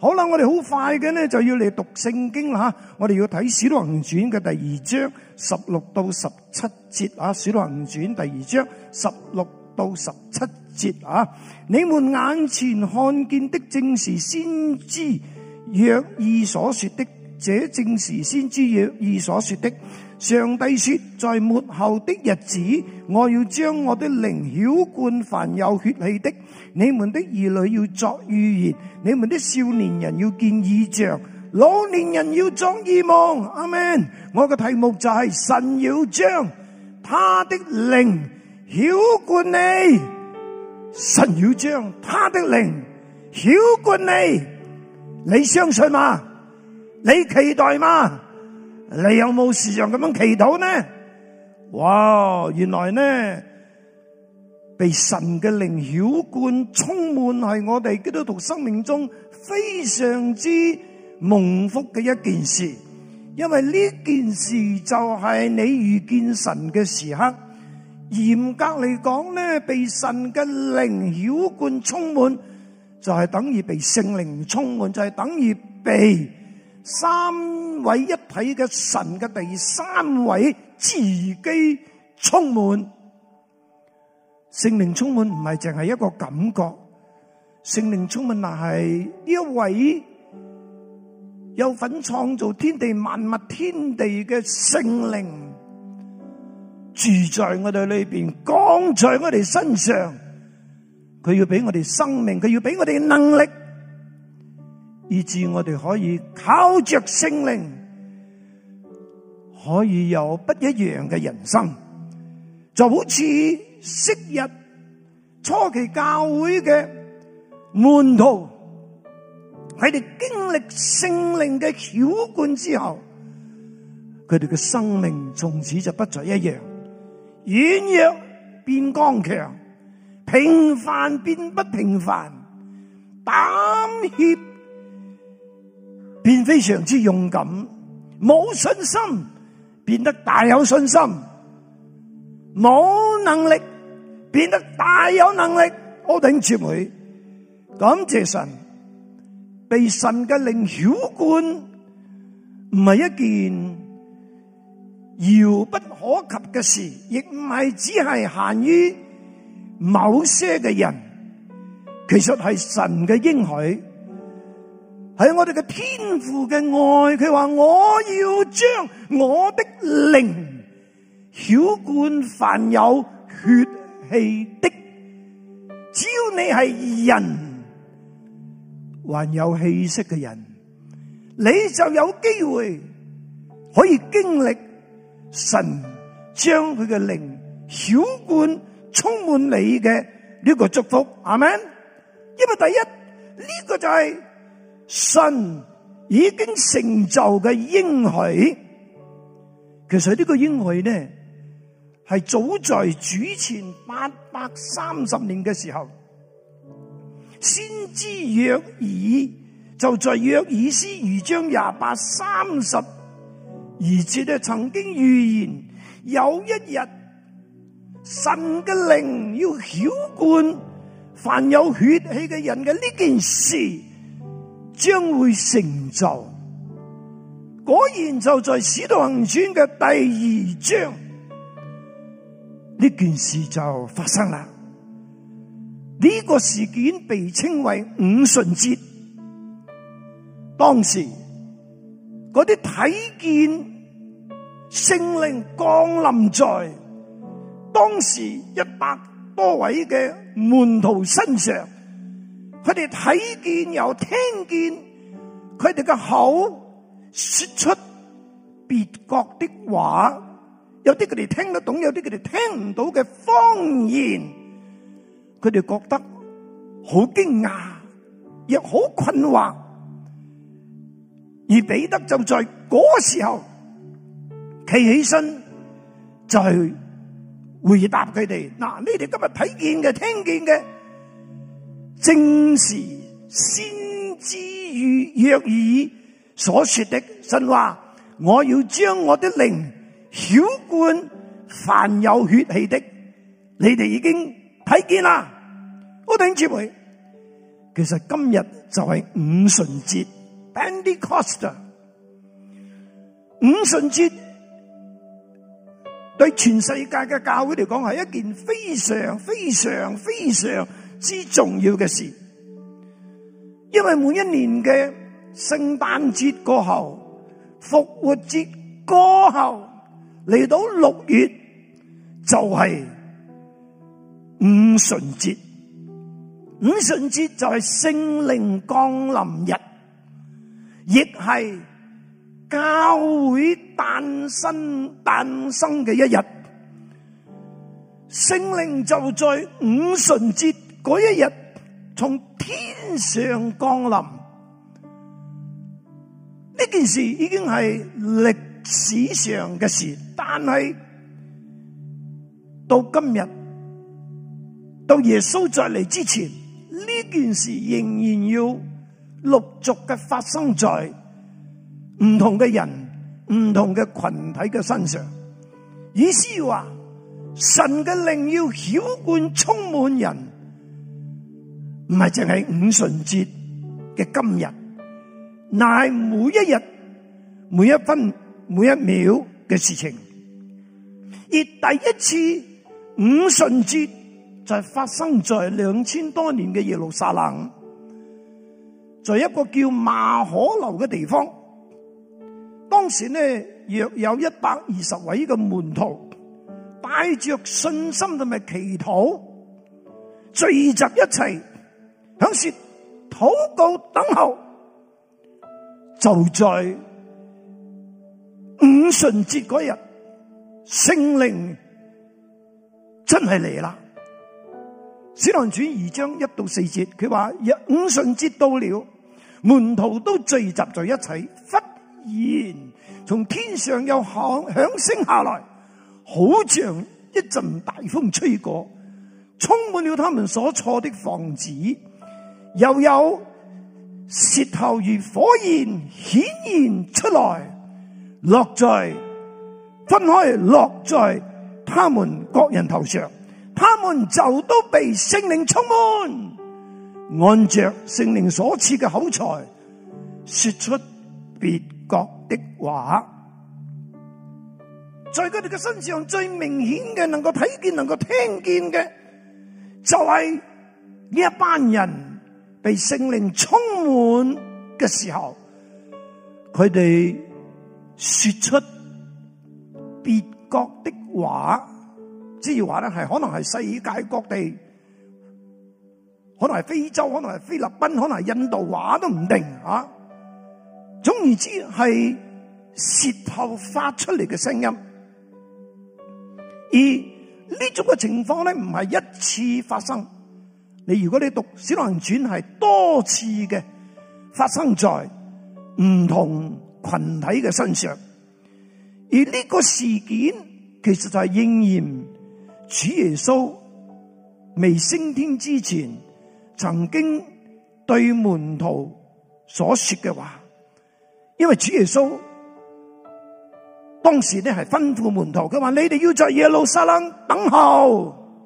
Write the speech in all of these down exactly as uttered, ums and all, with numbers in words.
好啦，我哋好快嘅呢就要嚟讀聖經啦吓，我哋要睇《使徒行傳》嘅第二章十六到十七節啊，《使徒行傳》第二章十六到十七節啊，你們眼前看見的正是先知約珥所說的，這正是先知約珥所說的。上帝說，在末後的日子，我要將我的靈澆灌凡有血氣的，你們的兒女要作預言，你們的少年人要見異象，老年人要作異夢。阿們。我嘅題目就係神要將他的靈澆灌你，神要將他的靈澆灌你，你相信嗎？你期待嗎？你有冇時常咁樣祈禱呢？哇！原來呢，被神嘅靈澆灌充滿係我哋基督徒生命中非常之蒙福嘅一件事，因為呢件事就係你遇見神嘅時刻。嚴格嚟講呢，被神嘅靈澆灌充滿，就係等於被聖靈充滿，就係等於被三位一體嘅神嘅第三位自己充滿。聖靈充滿唔係淨係一個感覺，聖靈充滿係呢一位有份創造天地萬物天地嘅聖靈住在我哋裏邊，降在我哋身上，佢要俾我哋生命，佢要俾我哋能力，以致我哋可以靠着聖靈，可以有不一樣嘅人生。就好似昔日初期教會嘅門徒，佢哋經歷聖靈嘅澆灌之後，佢哋嘅生命從此就不再一樣，軟弱變剛強，平凡變不平凡，膽怯變非常之勇敢，冇信心變得大有信心，冇能力變得大有能力。我弟兄姊妹，感謝神，被神嘅靈澆灌唔係一件遙不可及嘅事，亦唔係只係限於某些嘅人，其實係神嘅應許，係我哋嘅天父嘅愛。佢話我要將我的靈澆灌凡有血氣的，只要你係人，還有氣息嘅人，你就有機會可以經歷神將佢嘅靈澆灌充滿你嘅呢個祝福。阿們。因為第一，呢個就係神已經成就嘅應許。其實呢個應許呢，係早在主前八百三十年嘅時候，先知約珥就在約珥書二章廿八三十二節咧，曾經預言有一日神嘅靈要澆灌凡有血氣嘅人嘅呢件事將會成就。果然就在使徒行傳嘅第二章，呢件事就發生啦。呢個事件被稱為五旬節。當時嗰啲睇見聖靈降臨在當時一百多位嘅門徒身上，佢哋睇見又聽見，佢哋嘅口說出別國的話，有啲佢哋聽得懂，有啲佢哋聽唔到嘅方言，佢哋覺得好驚訝，亦好困惑。而彼得就在嗰時候企起身，就係回答佢哋：嗱，你哋今日睇見嘅、聽見嘅，正是先知約珥所說的。神話我要將我的靈澆灌凡有血氣的，你哋已經睇見啦。我弟兄姊妹， 其實今日就係五旬節 Pentecost。五旬節對全世界嘅教會嚟講係一件非常非常非常之重要嘅事，因為每一年嘅聖誕節過後、復活節過後，嚟到六月就係五旬節。五旬節就係聖靈降臨日，亦係教會誕生誕生嘅一日。聖靈就在五旬節嗰一日從天上降臨。呢件事已經係歷史上嘅事，但係到今日，到耶穌再嚟之前，呢件事仍然要陸續嘅發生在唔同嘅人、唔同嘅群體嘅身上。意思話，神嘅靈要澆灌充滿人，唔係淨係五旬節嘅今日，乃係每一日、每一分、每一秒嘅事情。而第一次五旬節就係發生在兩千多年嘅耶路撒冷，在一個叫馬可樓嘅地方。當時呢，約有一百二十位嘅門徒，帶着信心同埋祈禱，聚集一齊，響說禱告等候。就在五旬節嗰日，聖靈真係嚟啦。使徒行傳二章一到四節，佢話五旬節到了，門徒都聚集在一齊，忽然從天上有響響聲下來，好像一陣大風吹過，充滿了他們所坐的房子，又有舌頭如火焰顯現出來，落在分開落在他們各人頭上，他們就都被聖靈充滿，按着聖靈所賜嘅口才，說出別國的話。在佢哋嘅身上最明顯嘅，能夠睇見、能夠聽見嘅，就係呢一班人被聖靈充滿嘅時候，佢哋說出別國的話。即係話咧，係可能係世界各地，可能係非洲，可能係菲律賓，可能係印度話都唔定啊。總而言之，係舌頭發出嚟嘅聲音。而呢種嘅情況咧，唔係一次發生。你如果你讀《使徒行傳》，係多次嘅發生在唔同群體嘅身上。而呢個事件其實就係應驗主耶穌未升天之前，曾經對門徒所說嘅話。因為主耶穌當時咧係吩咐門徒，佢話：你哋要在耶路撒冷等候，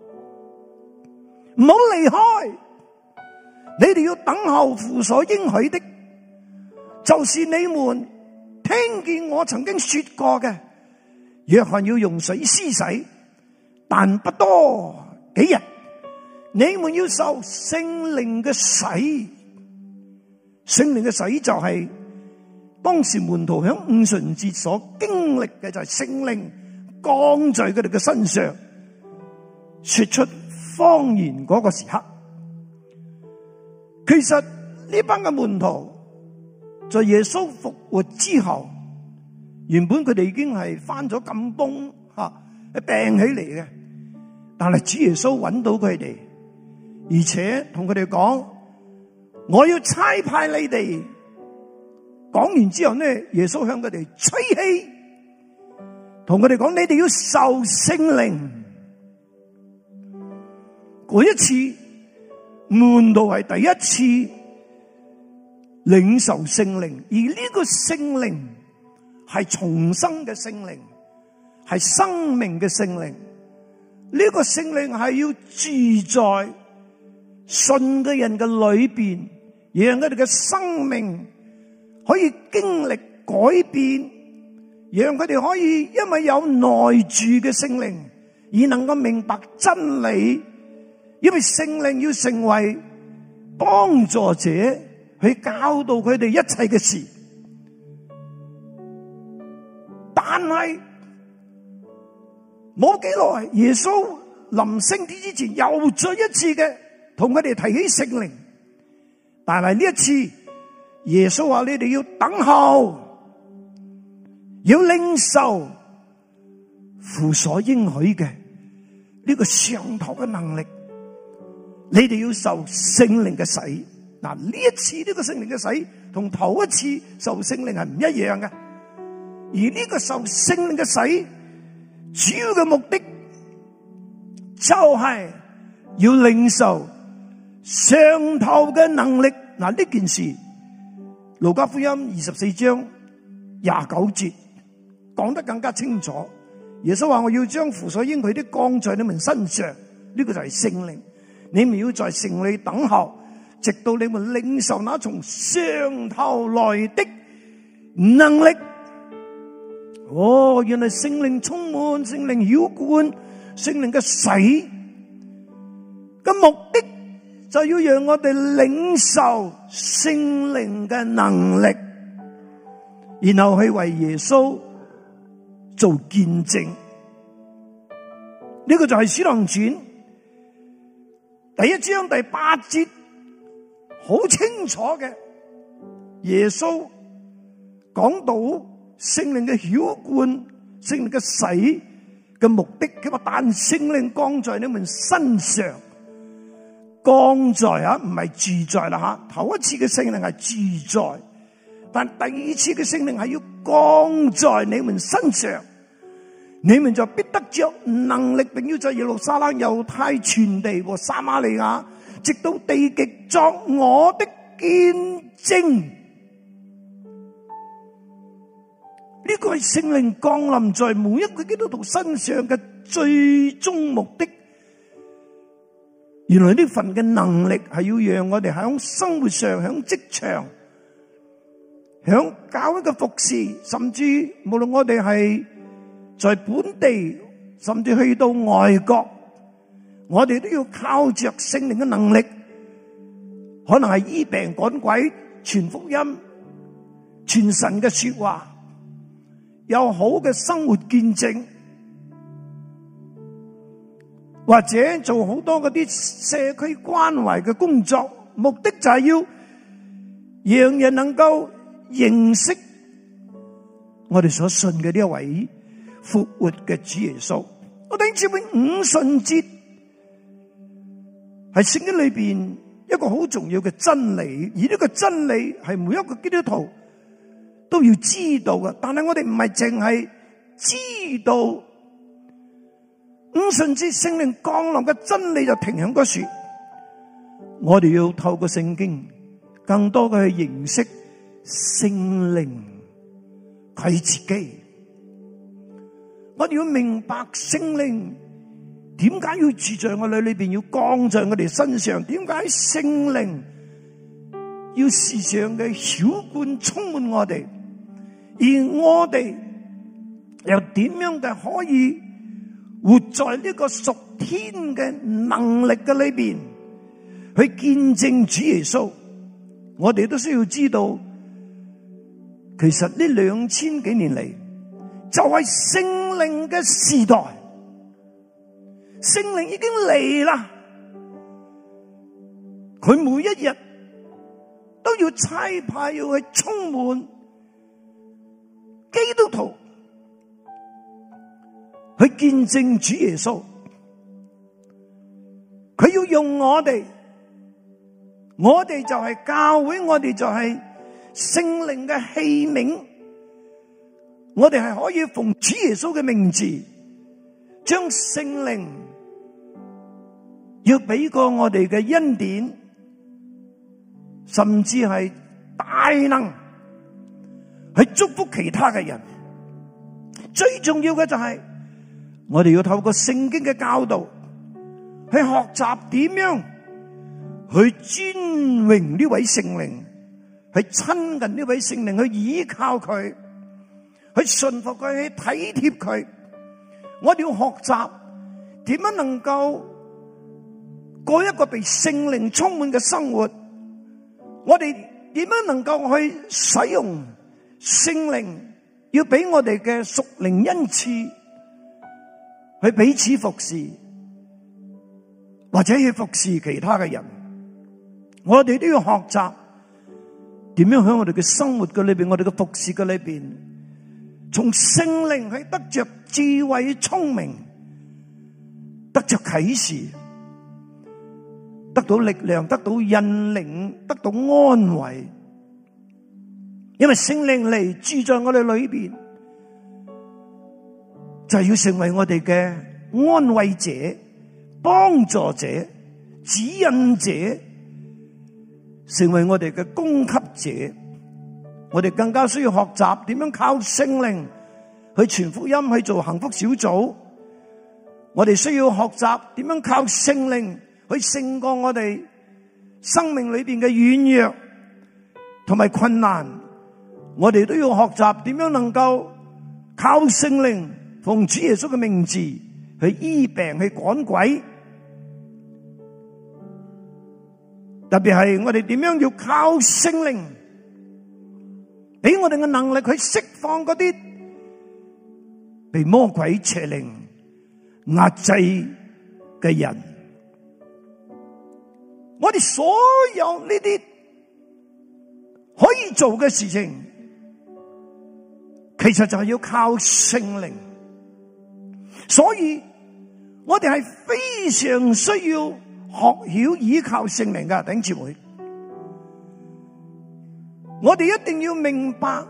唔好離開。你哋要等候父所應許的，就是你們聽見我曾經說過嘅。約翰要用水施洗，但不多幾日，你們要受聖靈嘅洗。聖靈嘅洗就係當時門徒響五旬節所經歷嘅，就係聖靈降在佢哋嘅身上，說出方言嗰個時刻。其實呢班嘅門徒在耶穌復活之後，原本佢哋已經係翻咗咁崩吓，病起嚟嘅。但係主耶穌揾到佢哋，而且同佢哋講：我要差派你哋。講完之後呢，耶穌向佢哋吹氣，同佢哋講：你哋要受聖靈。嗰一次門徒係第一次領受聖靈，而呢個聖靈係重生嘅聖靈，係生命嘅聖靈。呢個聖靈係要住在信嘅人嘅裏邊，讓佢哋嘅生命可以經歷改變，讓佢哋可以因為有內住嘅聖靈而能夠明白真理，因為聖靈要成為幫助者去教導佢哋一切嘅事。但係冇幾耐，耶穌臨升天之前又再一次嘅同佢哋提起聖靈，但係呢一次耶穌話：你哋要等候，要領受父所應許嘅呢個上頭嘅能力，你哋要受聖靈嘅洗。嗱，呢一次呢個聖靈嘅洗同頭一次受聖靈係唔一樣嘅，而呢個受聖靈嘅洗主要嘅目的就係要領受上頭嘅能力。嗱，呢件事路加福音二十四章廿九節講得更加清楚。耶穌話：我要將父所應許的降在你們身上，呢個就係聖靈。你們要在城裏等候，直到你們領受那從上頭來的能力。哦，原來聖靈充滿，聖靈澆灌，聖靈嘅洗嘅目的就要讓我哋領受聖靈嘅能力，然後去為耶穌做見證。呢個就係《使徒行傳》第一章第八節好清楚嘅，耶穌講到聖靈嘅澆灌、聖靈嘅洗嘅目的。佢話：但聖靈降在你們身上，降在啊，唔係住在啦吓。頭一次嘅聖靈係住在，但第二次嘅聖靈係要降在你們身上，你們就必得着能力，並要在耶路撒冷、猶太全地和撒瑪利亞，直到地極作我的見證。呢個係聖靈降臨在每一個基督徒身上嘅最終目的。原來呢份嘅能力係要讓我哋喺生活上、喺職場、喺教會嘅服侍，甚至無論我哋係在本地，甚至去到外國，我哋都要靠着聖靈嘅能力，可能係醫病趕鬼、傳福音、傳神嘅說話，有好嘅生活見證，或者做好多嗰啲社區關懷嘅工作，目的就係要讓人能夠認識我哋所信嘅呢一位復活嘅主耶穌。我哋知唔知五旬節係聖經裏邊一個好重要嘅真理，而呢個真理係每一個基督徒都要知道嘅。但係我哋唔係淨係知道五旬節聖靈降臨嘅真理就停響嗰處，我哋要透過聖經更多嘅去認識聖靈佢自己。我哋要明白聖靈點解要住在我哋裏邊，要降在我哋身上，點解聖靈要時常嘅澆灌充滿我哋，而我哋又點樣嘅可以活在呢個屬天嘅能力嘅裏邊去見證主耶穌。我哋都需要知道，其實呢兩千幾年嚟就係聖靈嘅時代，聖靈已經嚟啦，佢每一日都要差派要去充滿基督徒去見證主耶穌，佢要用我哋，我哋就係教會，我哋就係聖靈嘅器皿，我哋係可以奉主耶穌嘅名字，將聖靈要俾過我哋嘅恩典，甚至係大能去祝福其他嘅人。最重要嘅就係我哋要透過聖經嘅教導去學習點樣去尊榮呢位聖靈，去親近呢位聖靈，去依靠佢，去順服佢，去體貼佢。我哋要學習點樣能夠過一個被聖靈充滿嘅生活。我哋點樣能夠去使用聖靈要俾我哋嘅屬靈恩賜，去彼此服侍，或者去服侍其他嘅人。我哋都要學習點樣喺我哋嘅生活嘅裏邊，我哋嘅服侍嘅裏邊，從聖靈去得着智慧、聰明，得着啟示，得到力量，得到引領，得到安慰。因為聖靈嚟住在我哋裏邊，就係要成為我哋嘅安慰者、幫助者、指引者，成為我哋嘅供給者。我哋更加需要學習點樣靠聖靈去傳福音，去做幸福小組。我哋需要學習點樣靠聖靈去勝過我哋生命裏邊嘅軟弱同埋困難。我哋都要學習點樣能夠靠聖靈奉主耶穌嘅名字去醫病、去趕鬼。特別係我哋點樣要靠聖靈俾我哋嘅能力去釋放嗰啲被魔鬼邪靈壓制嘅人。我哋所有呢啲可以做嘅事情，其實就係要靠聖靈。所以我哋係非常需要學曉依靠聖靈㗎，弟兄姊妹。我哋一定要明白，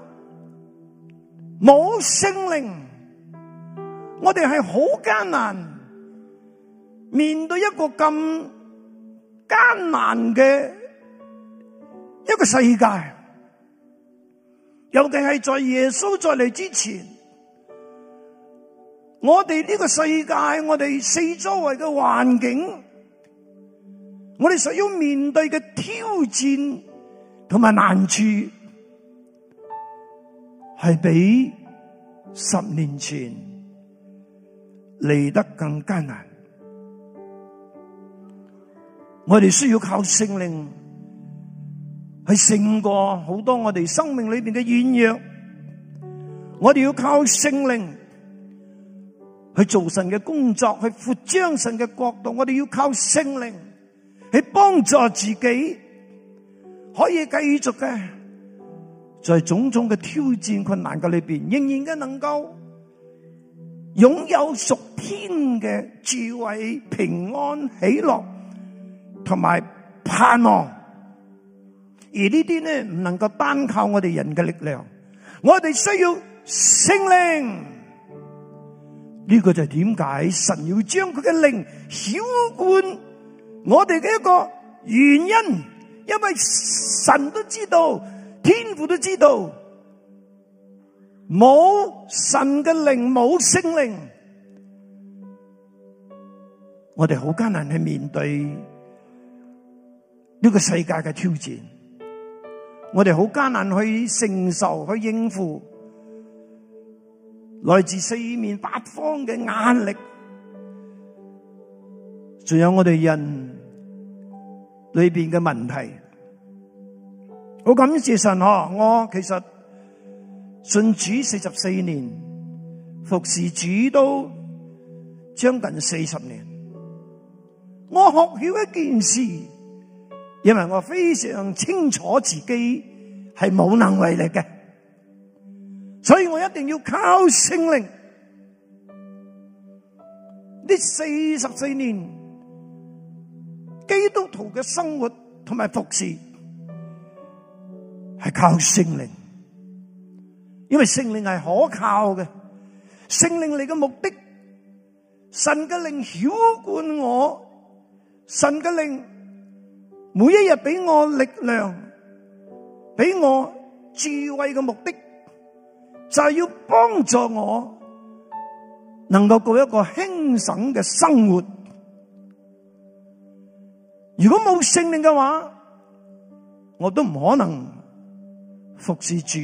冇聖靈，我哋係好艱難面對一個咁艱難嘅一個世界。尤其係在耶穌再嚟之前，我哋呢個世界，我哋四周圍嘅環境，我哋所要面對嘅挑戰同埋難處，係比十年前嚟得更艱難。我哋需要靠聖靈去勝過好多我哋生命裏邊嘅軟弱。我哋要靠聖靈去做神嘅工作，去擴張神嘅國度。我哋要靠聖靈去幫助自己，可以繼續嘅在種種嘅挑戰困難嘅裏邊，仍然嘅能夠擁有屬天嘅智慧、平安、喜樂同埋盼望。而呢啲呢，唔能夠單靠我哋人嘅力量，我哋需要聖靈。呢個就係點解神要將佢嘅靈澆灌我哋嘅一個原因。因為神都知道，天父都知道，冇神嘅靈，冇聖靈，我哋好艱難去面對呢個世界嘅挑戰。我哋好艱難去承受、去應付來自四面八方嘅壓力，仲有我哋人裏邊嘅問題。好感謝神嗬！我其實信主四十四年，服侍主都將近四十年。我學曉一件事，因為我非常清楚自己係無能為力嘅，所以我一定要靠聖靈。呢四十四年基督徒嘅生活同埋服侍係靠聖靈，因為聖靈係可靠嘅。聖靈嚟嘅目的，神嘅靈澆灌我，神嘅靈每一日俾我力量，俾我智慧嘅目的，就係要幫助我能夠過一個輕省嘅生活。 如果冇聖靈嘅話，我都唔可能服侍主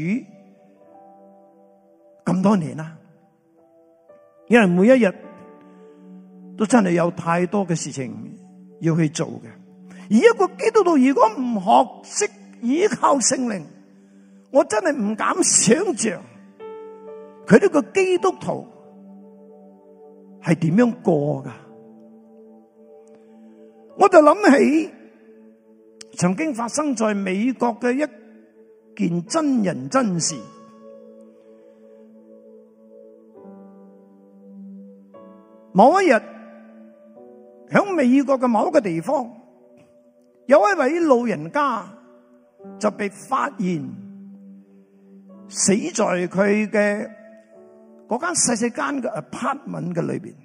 咁多年啦。因為每一日都真係有太多嘅事情要去做嘅。而一個基督徒如果唔學識依靠聖靈，我真係唔敢想象佢呢個基督徒係點樣過噶。我就諗起曾經發生在美國嘅一件真人真事。某一日喺美國嘅某一個地方，有一位老人家就被發現死在佢嘅嗰間細細間嘅 apartment 嘅裏邊。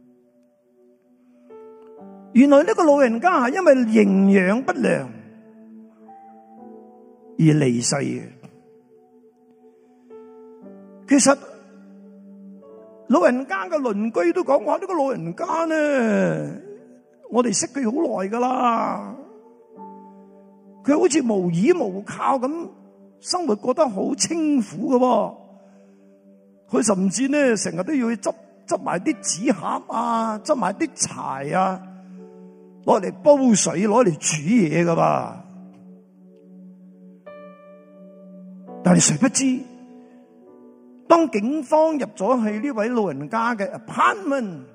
原來呢個老人家係因為營養不良而離世嘅。其實老人家嘅鄰居都講話，呢個老人家呢，我哋識佢好耐噶啦，佢好似無依無靠咁，生活過得好清苦噶喎。佢甚至呢成日都要去執執埋啲紙盒啊，執埋啲柴啊，攞嚟煲水，攞嚟煮嘢噶吧。但係誰不知，當警方入咗去呢位老人家嘅 apartment，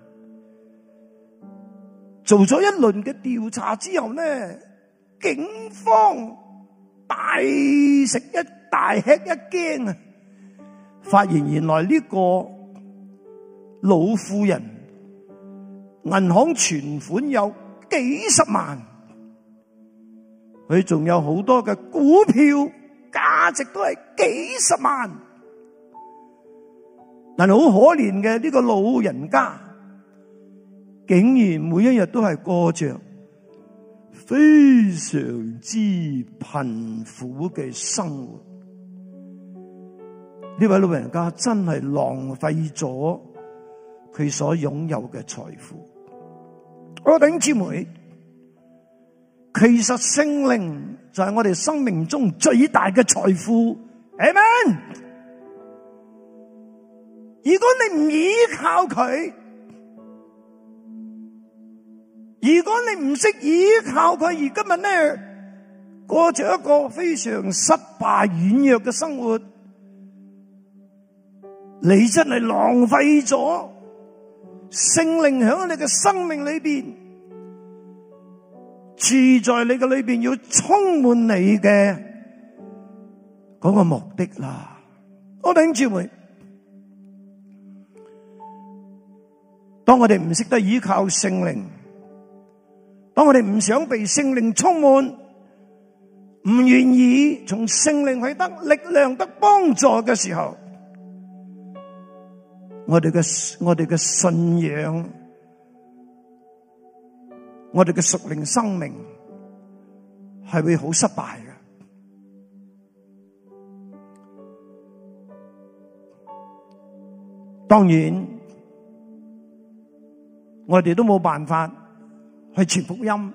做咗一輪嘅調查之後呢，警方大食一大吃一驚啊！發現原來呢個老婦人銀行存款有幾十萬，佢仲有好多嘅股票，價值都係幾十萬。但係好可憐嘅呢個老人家，竟然每一日都係過着非常之貧苦嘅生活。呢位老人家真係浪費咗佢所擁有嘅財富。我弟兄姊妹，其實聖靈就係我哋生命中最大嘅財富。阿們。如果你唔依靠佢，如果你唔識依靠佢，而今日呢過着一個非常失敗軟弱嘅生活，你真係浪費咗聖靈喺你嘅生命裏邊，住在你嘅裏邊，要充滿你嘅嗰個目的啦。我弟兄姊妹，當我哋唔識得依靠聖靈，當我哋唔想被聖靈充滿，唔願意從聖靈去得力量得幫助嘅時候，我哋嘅我哋嘅信仰，我哋嘅屬靈生命係會好失敗嘅。當然，我哋都冇辦法去傳福音，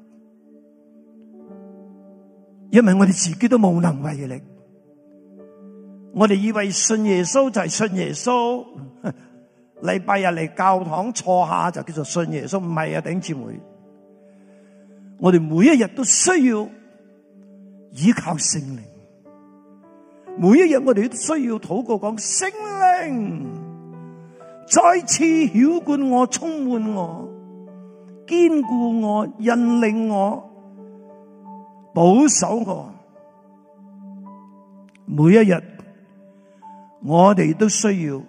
因為我哋自己都無能為力。我哋以為信耶穌就係信耶穌，禮拜日嚟教堂坐下就叫做信耶穌，唔係啊，弟兄姊妹。我哋每一日都需要依靠聖靈，每一日我哋都需要禱告講，聖靈再次澆灌我，充滿我，堅固我，引領我，保守我。每一日我哋都需要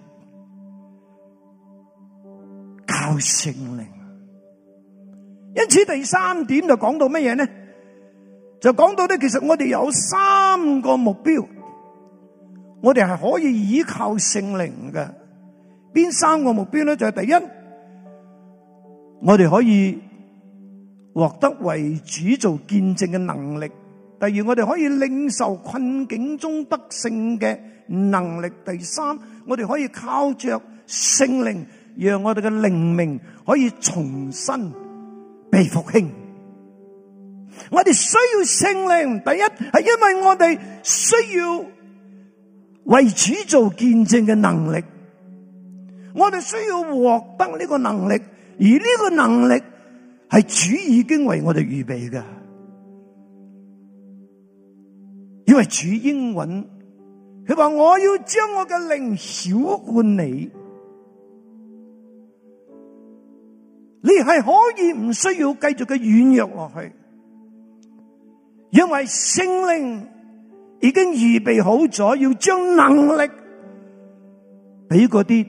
靠聖靈。因此第三點就講到乜嘢呢？就講到咧，其實我哋有三個目標，我哋係可以依靠聖靈嘅。邊三個目標咧？就係第一，我哋可以獲得為主做見證嘅能力；第二，我哋可以領受困境中得勝嘅能力；第三，我哋可以靠着聖靈，讓我哋嘅靈命可以重新被復興。 我哋需要聖靈，第一係因為我哋需要為主做見證嘅能力，我哋需要獲得呢個能力，而呢個能力係主已經為我哋預備嘅，因為主應允，佢話我要將我嘅靈澆灌你，你係可以唔需要繼續嘅軟弱落去，因為聖靈已經預備好咗，要將能力俾嗰啲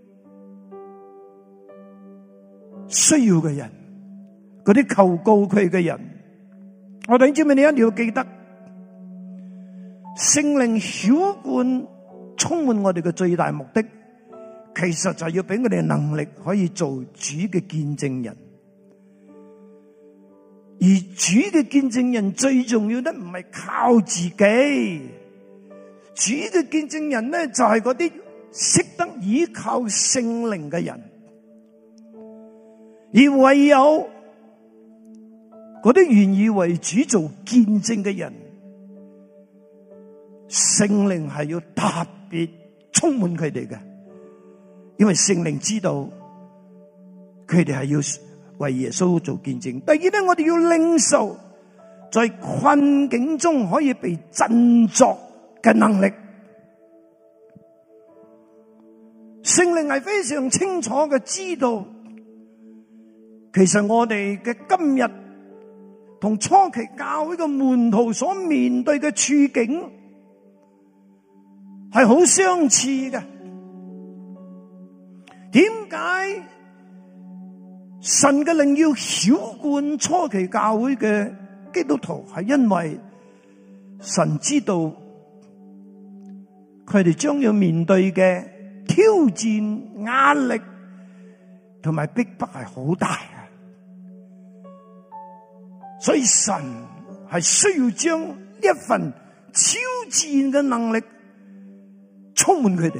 需要嘅人，嗰啲求告佢嘅人。我哋知唔知你一定要記得，聖靈澆灌充滿我哋嘅最大目的，其實就係要俾我哋能力可以做主嘅見證人。而主嘅見證人最重要的唔係靠自己，主嘅見證人咧就係嗰啲識得依靠聖靈嘅人，而唯有嗰啲願意為主做見證嘅人，聖靈係要特別充滿佢哋嘅，因為聖靈知道佢哋係要為耶穌做見證。第二咧，我哋要領受在困境中可以被振作嘅能力。聖靈係非常清楚嘅知道，其實我哋嘅今日同初期教會嘅門徒所面對嘅處境係好相似嘅。點解神嘅靈要澆灌初期教會嘅基督徒？係因為神知道佢哋將要面對嘅挑戰、壓力同埋逼迫係好大嘅，所以神係需要將一份超自然嘅能力充滿佢哋，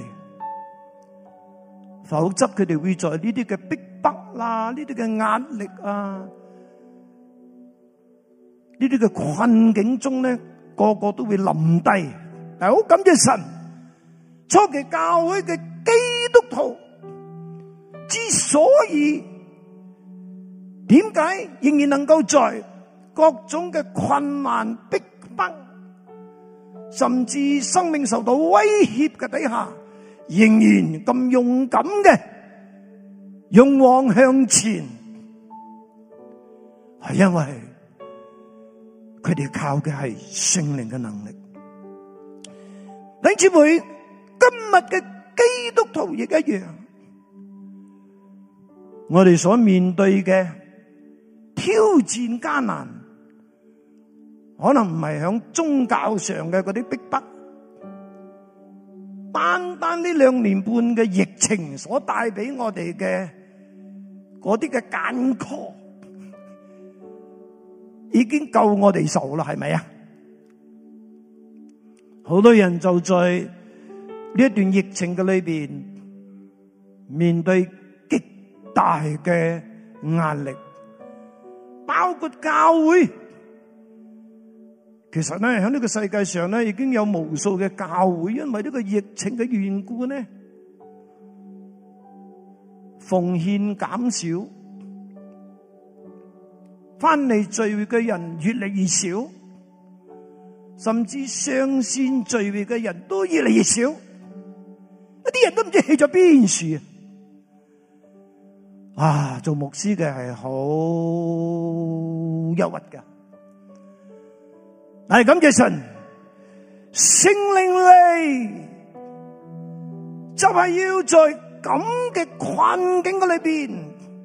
否則佢哋會在呢啲嘅逼迫啦、呢啲嘅壓力啊、呢啲嘅困境中咧，個個都會冧低。但係好感謝神，初期教會嘅基督徒之所以點解仍然能夠在各種嘅困難逼迫，甚至生命受到威脅嘅底下，仍然咁勇敢嘅勇往向前，係因為佢哋靠嘅係聖靈嘅能力。弟兄姊妹，今日嘅基督徒亦一樣，我哋所面對嘅挑戰艱難，可能唔係響宗教上嘅嗰啲逼迫，單單呢兩年半嘅疫情所帶俾我哋嘅嗰啲嘅艱苦，已經夠我哋受啦，係咪啊？好多人就在呢一段疫情嘅裏邊，面對極大嘅壓力，包括教會。其實咧，喺呢個世界上咧，已經有無數嘅教會，因為呢個疫情嘅緣故咧，奉獻減少，翻嚟聚會嘅人越嚟越少，甚至上線聚會嘅人都越嚟越少，一啲人都唔知去咗邊處啊！啊，做牧師嘅係好憂鬱噶。係感謝神，聖靈嚟就係要在咁嘅困境嘅裏邊，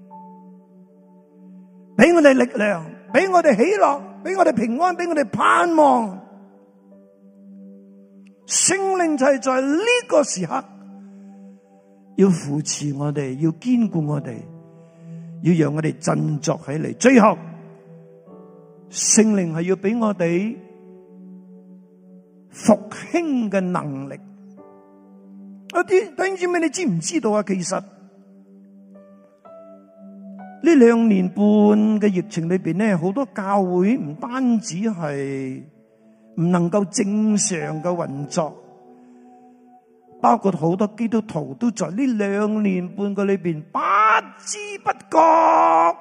俾我哋力量，俾我哋喜樂，俾我哋平安，俾我哋盼望。聖靈就係在呢個時刻，要扶持我哋，要堅固我哋，要讓我哋振作起嚟。最後，聖靈係要俾我哋復興嘅能力。一啲弟兄姊妹，你知唔知道啊？其實呢兩年半嘅疫情裏邊咧，好多教會唔單止係唔能夠正常嘅運作，包括好多基督徒都在呢兩年半嘅裏邊不知不覺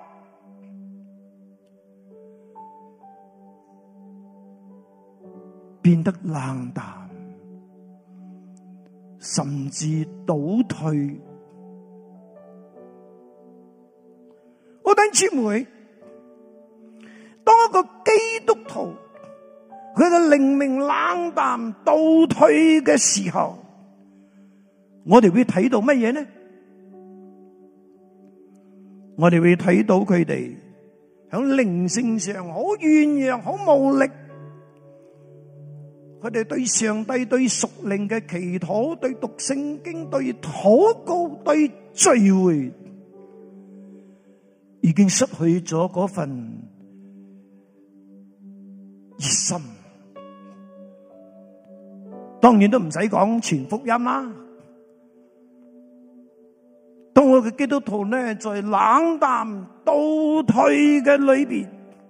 變得冷淡，甚至倒退。我弟兄姊妹，當一個基督徒佢嘅靈命冷淡倒退嘅時候，我哋會睇到乜嘢呢？我哋會睇到佢哋喺靈性上好軟弱、好無力。佢哋對上帝、對屬靈嘅祈禱、對讀聖經、對禱告、對聚會，已經失去咗嗰份熱心。當然都唔使講傳福音啦。當我嘅基督徒呢，在冷淡倒退嘅裏邊，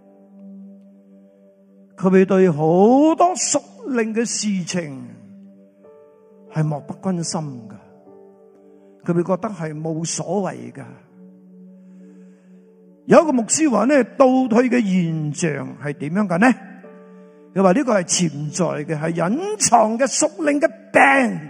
佢會對好多屬靈嘅事情係漠不關心噶，佢會覺得係冇所謂噶。有一個牧師話呢，倒退嘅現象係點樣嘅呢？佢話呢個係潛在嘅，係隱藏嘅屬靈嘅病，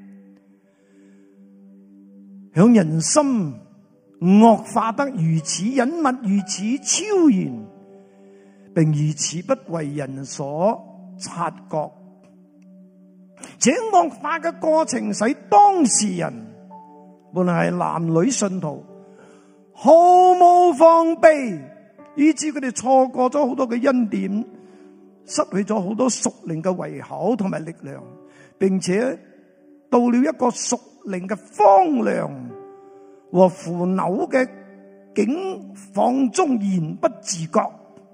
響人心惡化得如此隱密、如此超然，並如此不為人所察覺。這惡化嘅過程使當事人，無論係男女信徒，毫無防備，以致佢哋錯過咗好多嘅恩典，失去咗好多屬靈嘅胃口同埋力量，並且到了一個屬靈嘅荒涼和腐朽嘅境況中，言不自覺，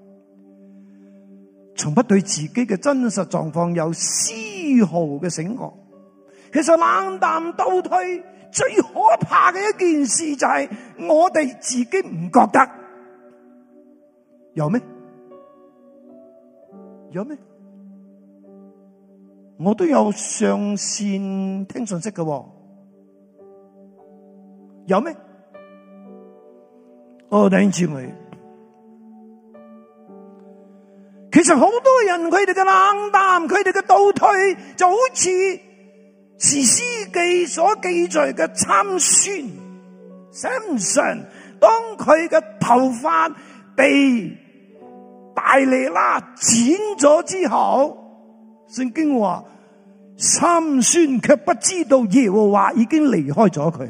從不對自己嘅真實狀況有絲毫嘅醒覺。其實冷淡倒退最可怕嘅一件事就係我哋自己唔覺得，有咩？有咩？我都有上線聽信息嘅，有咩？哦，弟兄姊妹，其實好多人佢哋嘅冷淡，佢哋嘅倒退，就好似士師記所記載嘅參孫 Samson， 當佢嘅頭髮被大利拉剪咗之後，聖經話參孫卻不知道耶和華已經離開咗佢。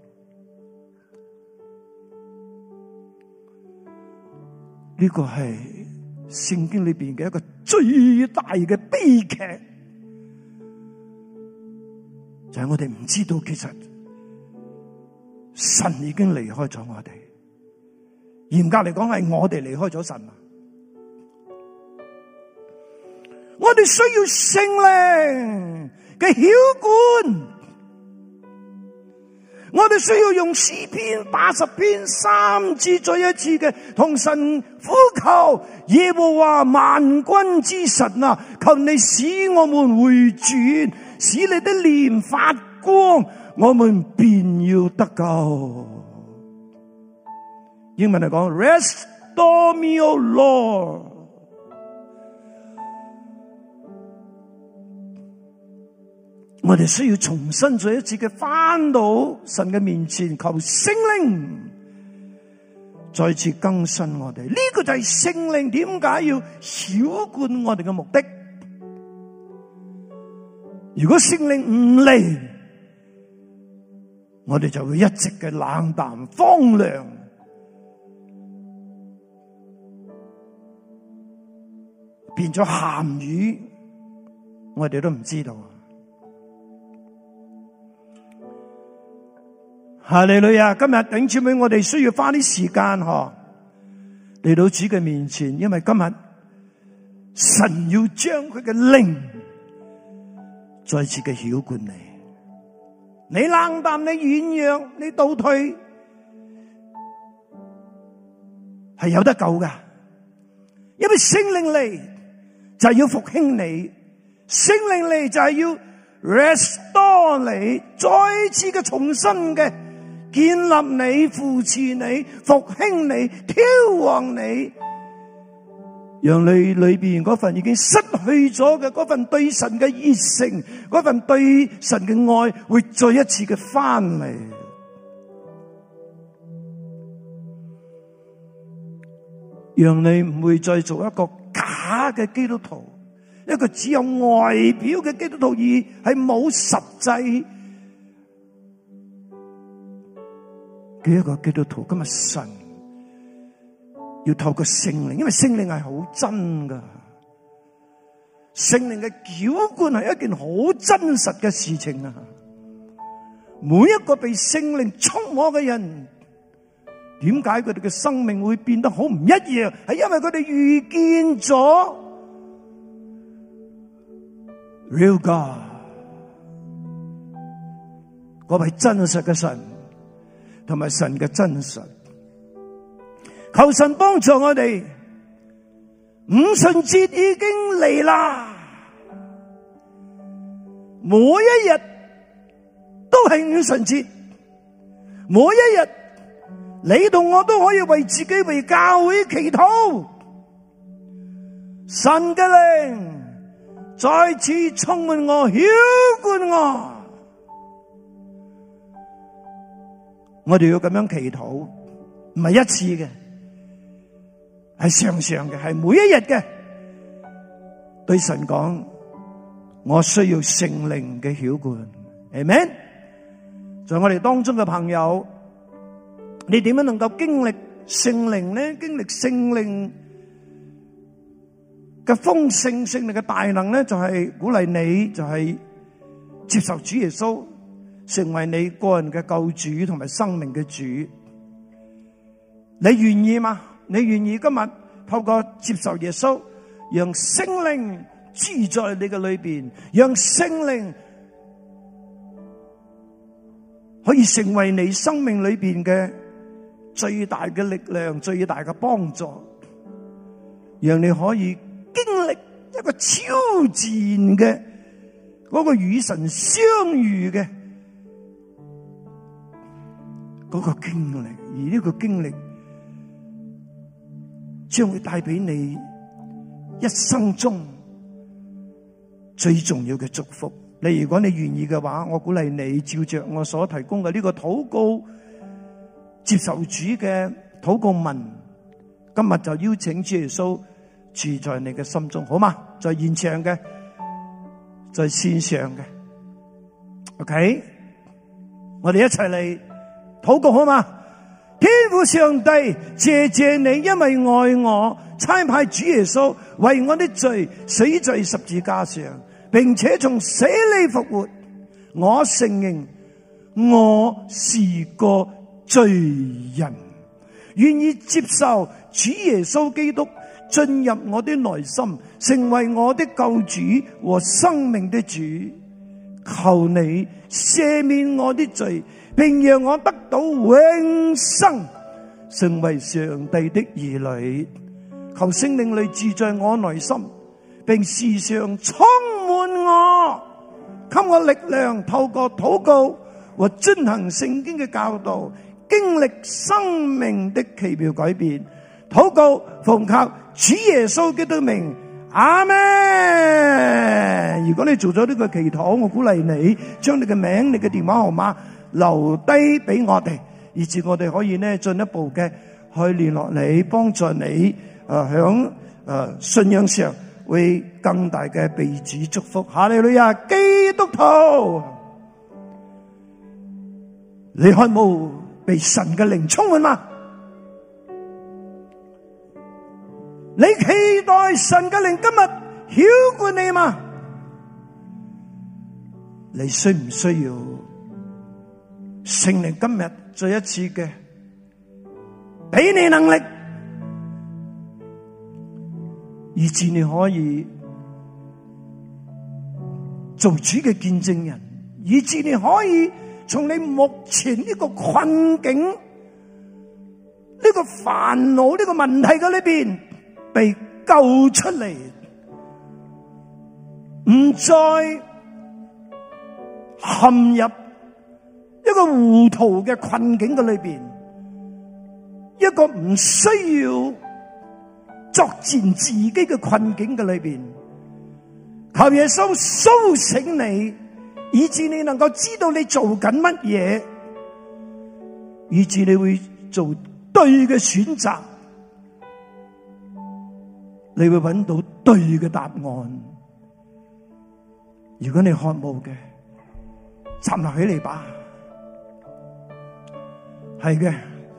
呢個係聖經裏邊嘅一個最大嘅悲劇，就係我哋唔知道其實神已經離開咗我哋。嚴格嚟講係我哋離開咗神啊！我哋需要聖靈嘅澆灌，我哋需要用詩篇八十篇三次再一次嘅同神呼求耶和華萬軍之神啊，求你使我們回轉，使你的臉發光，我們便要得救。英文嚟講 ，Restore me, O Lord。我哋需要重新再一次嘅返到神嘅面前，求聖靈再次更新我哋。呢個就係聖靈點解要澆灌我哋嘅目的。如果聖靈唔嚟，我哋就會一直嘅冷淡荒涼，變咗鹹魚，我哋都唔知道。哈利路亞！今日弟兄姊妹，我哋需要花啲時間嗬嚟到主嘅面前，因為今日神要將佢嘅靈再次嘅澆灌你。你冷淡，你軟弱，你倒退， 係有得救噶，因為聖靈嚟就係要復興你，聖靈嚟就係要 restore 你，再次嘅重新嘅建立你、扶持你、復興你、挑旺你，讓你裏邊嗰份已經失去咗嘅嗰份對神嘅熱誠，嗰份對神嘅愛會再一次嘅翻嚟。讓你唔會再做一個假嘅基督徒，一個只有外表嘅基督徒，而係冇實際嘅一個基督徒。今日神要透過聖靈，因為聖靈係好真噶，聖靈嘅澆灌係一件好真實嘅事情啊！每一個被聖靈充滿嘅人，點解佢哋嘅生命會變得好唔一樣？係因為佢哋遇見咗 Real God， 嗰位真實嘅神，同埋神嘅真實。求神幫助我哋，五旬節已經嚟啦，每一日都係五旬節，每一日你同我都可以為自己、為教會祈禱，神嘅靈再次充滿我、澆灌我。我哋要咁樣祈禱，唔係一次嘅，係常常嘅，係每一日嘅。對神講，我需要聖靈嘅澆灌。阿們。在我哋當中嘅朋友，你點樣能夠經歷聖靈呢？經歷聖靈嘅豐盛、聖靈嘅大能呢？就係鼓勵你，就係接受主耶穌成為你個人嘅救主同埋生命嘅主。你願意嗎？你願意今日透過接受耶穌，讓聖靈住在你嘅裏邊，讓聖靈可以成為你生命裏邊嘅最大嘅力量、最大嘅幫助，讓你可以經歷一個超自然嘅嗰個與神相遇嘅嗰個經歷，而呢個經歷將會帶俾你一生中最重要嘅祝福。你如果你願意嘅話，我鼓勵你照着我所提供嘅呢個禱告，接受主嘅禱告文，今日就邀請主耶穌住在你嘅心中，好嗎？在現場嘅，在線上嘅 ，OK， 我哋一齊嚟禱告，好嗎？天父上帝，謝謝你，因為愛我，差派主耶穌為我的罪死在十字架上，並且從死裏復活。我承認我是個罪人，願意接受主耶穌基督進入我的內心，成為我的救主和生命的主。求你赦免我的罪，並讓我得到永生，成為上帝的兒女。求聖靈嚟住在我內心，並時常充滿我，給我力量，透過禱告和遵行聖經嘅教導，經歷生命的奇妙改變。禱告奉靠主耶穌基督的名，阿們。如果你做咗呢個祈禱，我鼓勵你將你嘅名、你嘅電話號碼留低俾我哋，以至我哋可以呢進一步嘅去聯絡你，幫助你誒響誒信仰上會更大嘅被主祝福。哈利路亞！基督徒，你渴慕被神嘅靈充滿嗎？你期待神嘅靈今日澆灌你嗎？你需唔需要聖靈今日再一次嘅俾你能力，以致你可以做主嘅見證人，以致你可以從你目前呢個困境呢個煩惱呢個問題嘅裏邊被救出嚟，唔再陷入一個糊塗嘅困境嘅裏邊，一個唔需要作戰自己嘅困境嘅裏邊，求耶穌蘇醒你，以致你能夠知道你做緊乜嘢，以致你會做對嘅選擇，你會揾到對嘅答案。如果你渴慕嘅，站立起嚟吧。係嘅，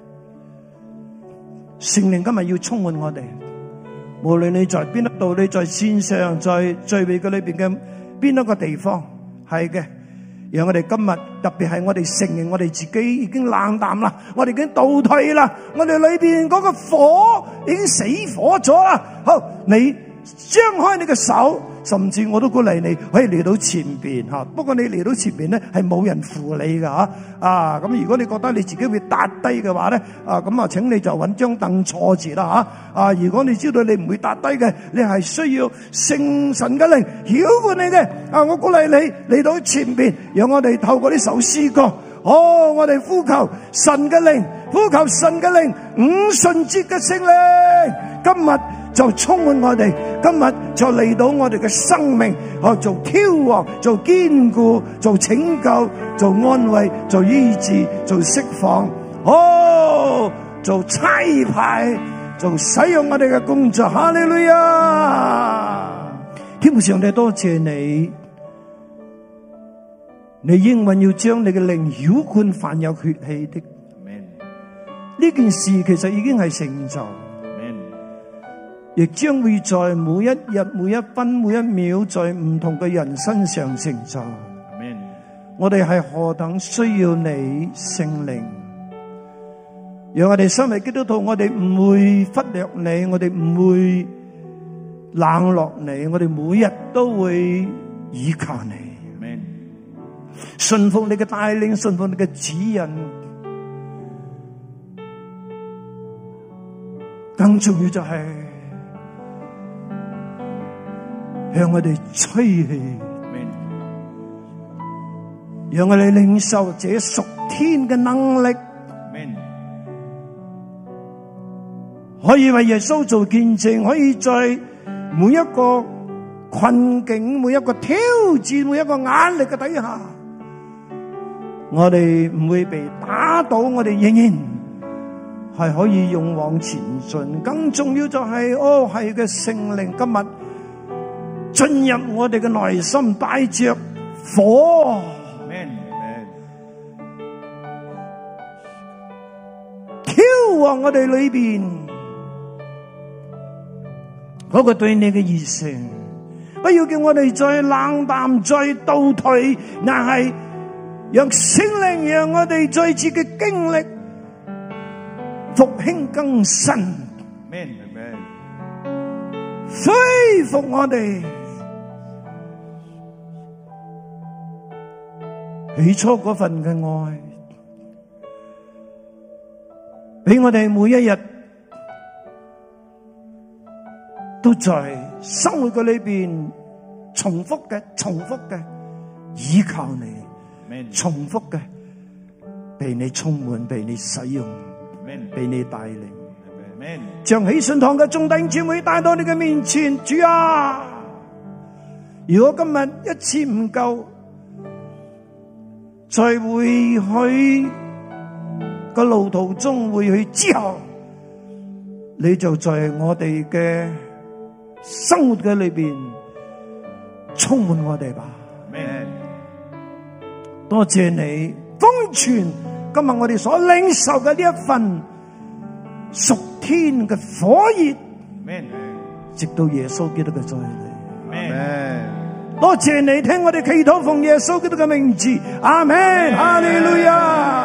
聖靈今日要充滿我哋，無論你在邊一度，你在線上，在聚會嘅裏邊嘅邊一個地方，係嘅，讓我哋今日特別係我哋承認我哋自己已經冷淡啦，我哋已經倒退啦，我哋裏邊嗰個火已經死火咗啦。好，你張開你嘅手，甚至我都鼓勵你可以嚟到前邊吓。不過你嚟到前邊咧，係冇人扶你噶吓。啊，咁如果你覺得你自己會跌低嘅話咧，啊咁啊，請你就揾張凳坐住啦吓。啊，如果你知道你唔會跌低嘅，你係需要聖神嘅靈曉灌你嘅。啊，我鼓勵你嚟到前邊，讓我哋透過呢首詩歌，哦，我哋呼求神嘅靈，呼求神嘅靈，五旬節嘅聖靈，今日就充滿我哋，今日就嚟到我哋嘅生命，哦，做挑旺，做堅固，做拯救，做安慰，做醫治，做釋放，哦，做差派，做使用我哋嘅工作。哈利路亞！天父上帝，多謝你，你應允要將你嘅靈澆灌凡有血氣的。呢件事其實已經係成就，亦將會在每一日、每一分、每一秒，在唔同嘅人身上成就。我哋係何等需要你聖靈，讓我哋身為基督徒，我哋唔會忽略你，我哋唔會冷落你，我哋每日都會依靠你，順服你嘅帶領，順服你嘅指引。更重要就係向我哋吹氣，讓我哋領受這屬天嘅能力，可以為耶穌做見證，可以在每一個困境、每一個挑戰、每一個壓力嘅底下，我哋唔會被打倒，我哋仍然係可以勇往前進。更重要就係，哦，係嘅聖靈今日進入我哋嘅內心，帶着火，挑旺我哋裏邊嗰個對你嘅熱誠。不要叫我哋再冷淡、再倒退，但係讓聖靈讓我哋再次嘅經歷復興更新，恢復我哋起初嗰份嘅愛，俾我哋每一日都在生活嘅裏邊重複嘅、重複嘅依靠你，重複嘅被你充滿、被你使用、被你帶領，將喜信堂嘅眾弟兄姊妹帶到你嘅面前。主啊，如果今日一次唔夠，在會去個路途中會去之後，你就在我哋嘅生活嘅裏邊充滿我哋吧。多謝你封存今日我哋所領受嘅呢一份屬天嘅火熱，直到耶穌基督嘅再來。多謝你聽我哋祈禱，奉耶穌基督嘅名字，阿門，哈利路亞。